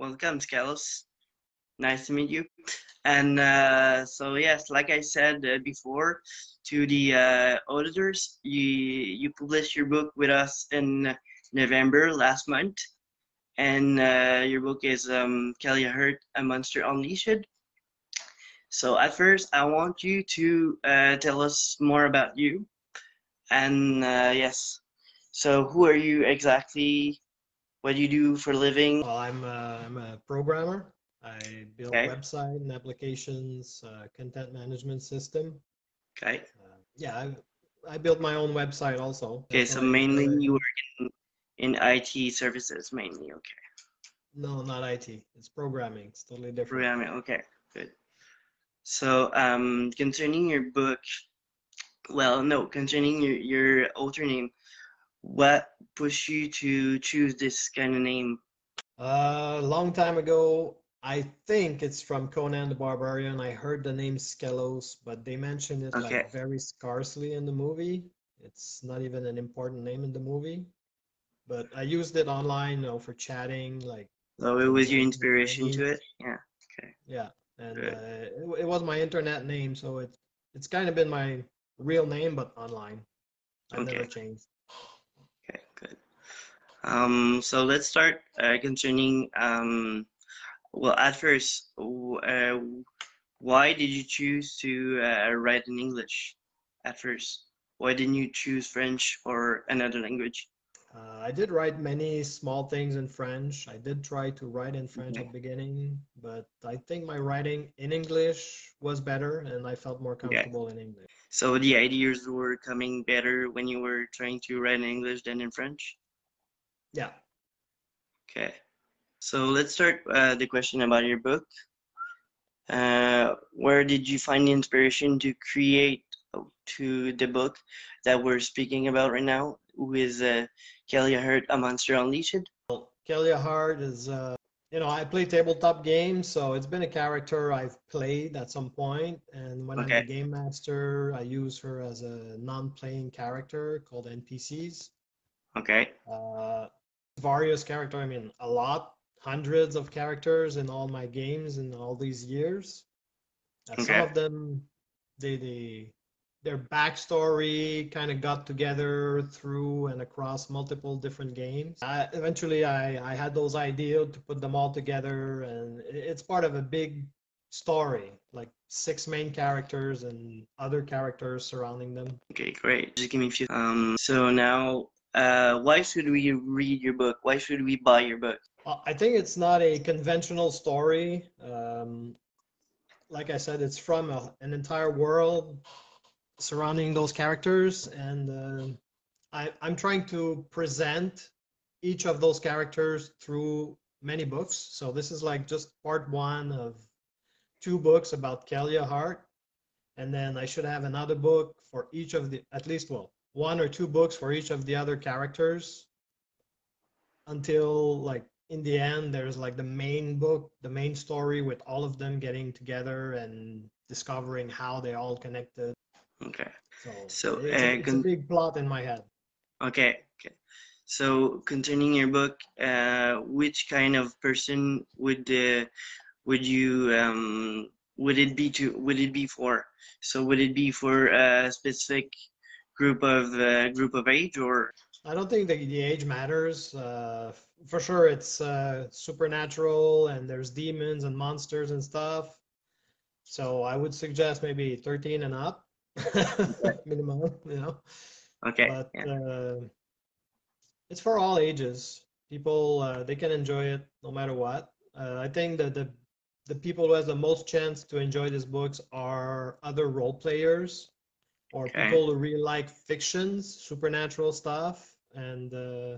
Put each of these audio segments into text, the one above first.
welcome, Skelos. Nice to meet you. And so yes, like I said before, to the auditors, you published your book with us in November last month, and your book is Kelly Hurt, A Monster Unleashed. So at first, I want you to tell us more about you, and yes. So who are you exactly? What do you do for a living? Well, I'm a programmer. I build Okay. website and applications, content management system. Okay. Yeah, I built my own website also. Okay. That's So what I do mainly for a you living. work in IT services mainly. Okay. No, not IT. It's programming. It's totally different. Programming. Okay. Good. So concerning your book, well, no, concerning your author name, what pushed you to choose this kind of name? A long time ago, I think it's from Conan the Barbarian. I heard the name Skelos, but they mentioned it Okay. like very scarcely in the movie. It's not even an important name in the movie. But I used it online, for chatting, like So it to was your voice my inspiration to name. it. Yeah. Okay. Yeah, and Good. it was my internet name, so it's kind of been my real name, but online. I've never Okay. changed. Okay. Good. So let's start concerning well, at first, why did you choose to write in English at first? Why didn't you choose French or another language? I did write many small things in French. I did try to write in French at Okay. the beginning, but I think my writing in English was better, and I felt more Okay. comfortable in English. So the ideas were coming better when you were trying to write in English than in French? Yeah. Okay. So let's start the question about your book. Where did you find the inspiration to create to the book that we're speaking about right now, with Kelly Hurt, A Monster Unleashed? Kelia Hart is, I play tabletop games, so it's been a character I've played at some point. And when I'm the Okay. game master, I use her as a non-playing character called NPCs. Okay. Various character, I mean, a lot, hundreds of characters in all my games in all these years. Some Okay. of them, they their backstory kind of got together through and across multiple different games. Eventually, I had those ideas to put them all together, and it's part of a big story, like six main characters and other characters surrounding them. Okay, great. Just give me a few. So now, why should we read your book? Why should we buy your book? I think it's not a conventional story. Like I said, it's from an entire world surrounding those characters, and I'm trying to present each of those characters through many books. So this is like just part one of two books about Kelia Hart, and then I should have another book for each of the, at least, well, one or two books for each of the other characters, until like in the end there's like the main book, the main story with all of them getting together and discovering how they all connected. Okay. So So, it's a big plot in my head. okay. Okay. So, concerning your book, which kind of person would you would it be for? So, would it be for a specific group of age, or I don't think the age matters. For sure, it's supernatural and there's demons and monsters and stuff. So I would suggest maybe 13 and up, minimum, okay? But Yeah. it's for all ages. People, they can enjoy it no matter what. I think that the people who has the most chance to enjoy these books are other role players or Okay. people who really like fictions, supernatural stuff, and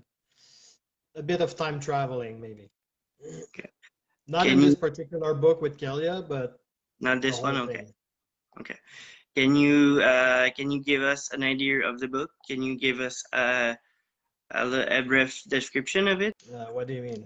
a bit of time traveling, maybe. Okay. Not in Can this you particular book with Kelia, but not the this one? whole Okay. thing. Okay. Can you give us an idea of the book? Can you give us a brief description of it? What do you mean?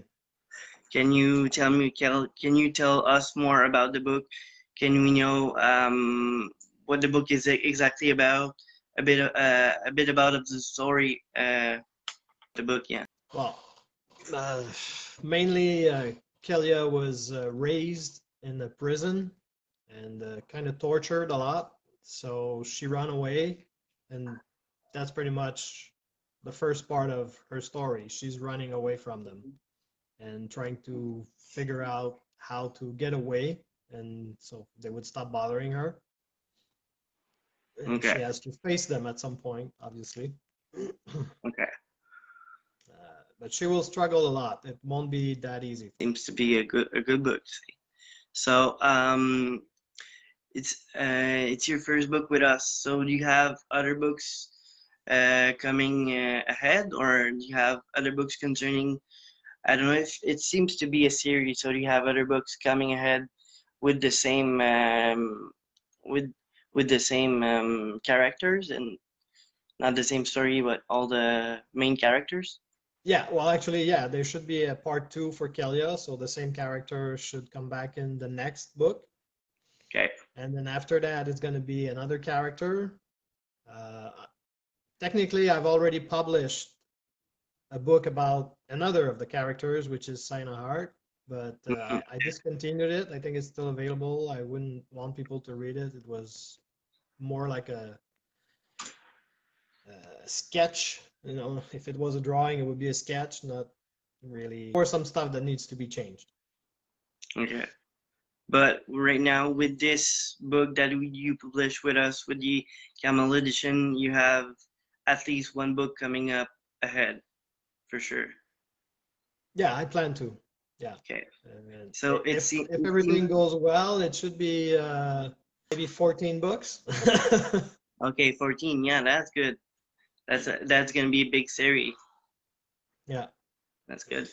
Can you tell us more about the book? Can we know what the book is exactly about? A bit about of the story the book, yeah. Well, mainly Kelia was raised in a prison and kind of tortured a lot. So she ran away, and that's pretty much the first part of her story. She's running away from them and trying to figure out how to get away, and so they would stop bothering her. And Okay. she has to face them at some point, obviously. Okay. But she will struggle a lot. It won't be that easy. Seems to be a good book. So it's your first book with us. So do you have other books coming ahead, or do you have other books concerning? I don't know if it seems to be a series. So do you have other books coming ahead with the same with the same characters and not the same story, but all the main characters? Yeah, well, actually, yeah, there should be a part 2 for Kelia, so the same character should come back in the next book. Okay. And then after that, it's going to be another character. Uh, Technically, I've already published a book about another of the characters, which is Sina Hart, but I discontinued it. I think it's still available. I wouldn't want people to read it. It was more like a sketch. You know, if it was a drawing, it would be a sketch, not really, or some stuff that needs to be changed. Okay. But right now, with this book that you published with us, with the Camel edition, you have at least one book coming up ahead, for sure. Yeah, I plan to. Yeah. Okay. And So if everything goes well, it should be maybe 14 books. Okay, 14. Yeah, that's good. That's gonna be a big series. Yeah. That's good.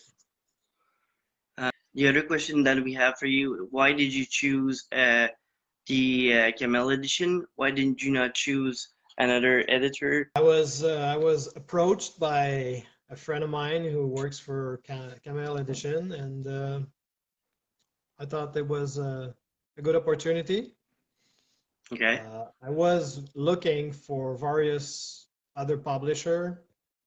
The other question that we have for you: why did you choose the Camel edition? Why didn't you not choose another editor? I was approached by a friend of mine who works for Camel Edition, and I thought it was a good opportunity. Okay. I was looking for various other publisher,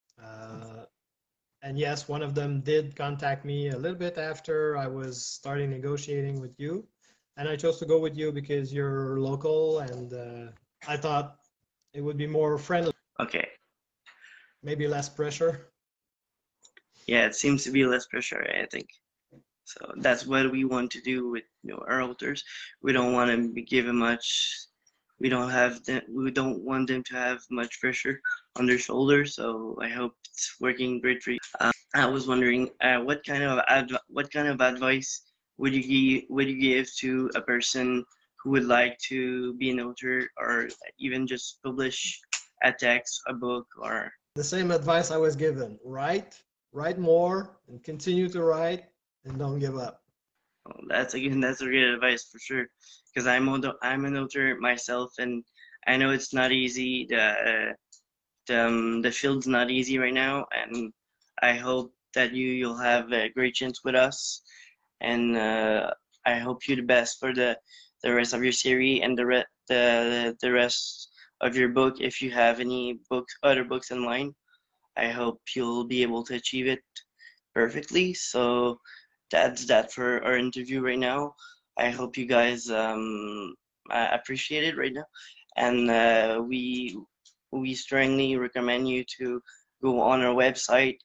and yes, one of them did contact me a little bit after I was starting negotiating with you, and I chose to go with you because you're local, and I thought it would be more friendly. Okay. Maybe less pressure. Yeah, it seems to be less pressure, I think. So that's what we want to do with our authors. We don't want to give them much. We don't want them to have much pressure on their shoulders. So I hope it's working great for you. I was wondering, what kind of advice would you give to a person who would like to be an author or even just publish a text, a book, or The same advice I was given: write more, and continue to write, and don't give up. oh, that's a great advice for sure. Because I'm an author myself, and I know it's not easy. The field's not easy right now, and I hope that you'll have a great chance with us, and I hope you the best for the rest of your series and the rest of your book. If you have any other books in line, I hope you'll be able to achieve it perfectly. So that's that for our interview right now. I hope you guys appreciate it right now, and we strongly recommend you to go on our website.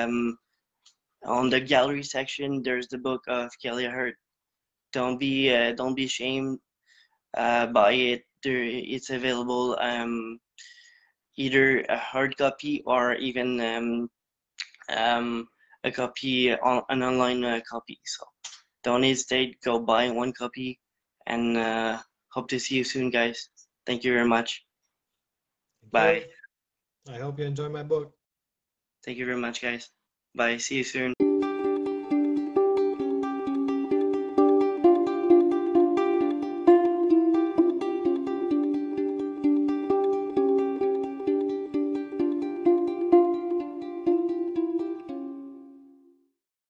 On the gallery section, there's the book of Kelia Hart. Don't be ashamed. Buy it. It's available either a hard copy or even a copy an online copy. So don't hesitate. Go buy one copy, and hope to see you soon, guys. Thank you very much. Thank Bye. you. I hope you enjoy my book. Thank you very much, guys. Bye. See you soon.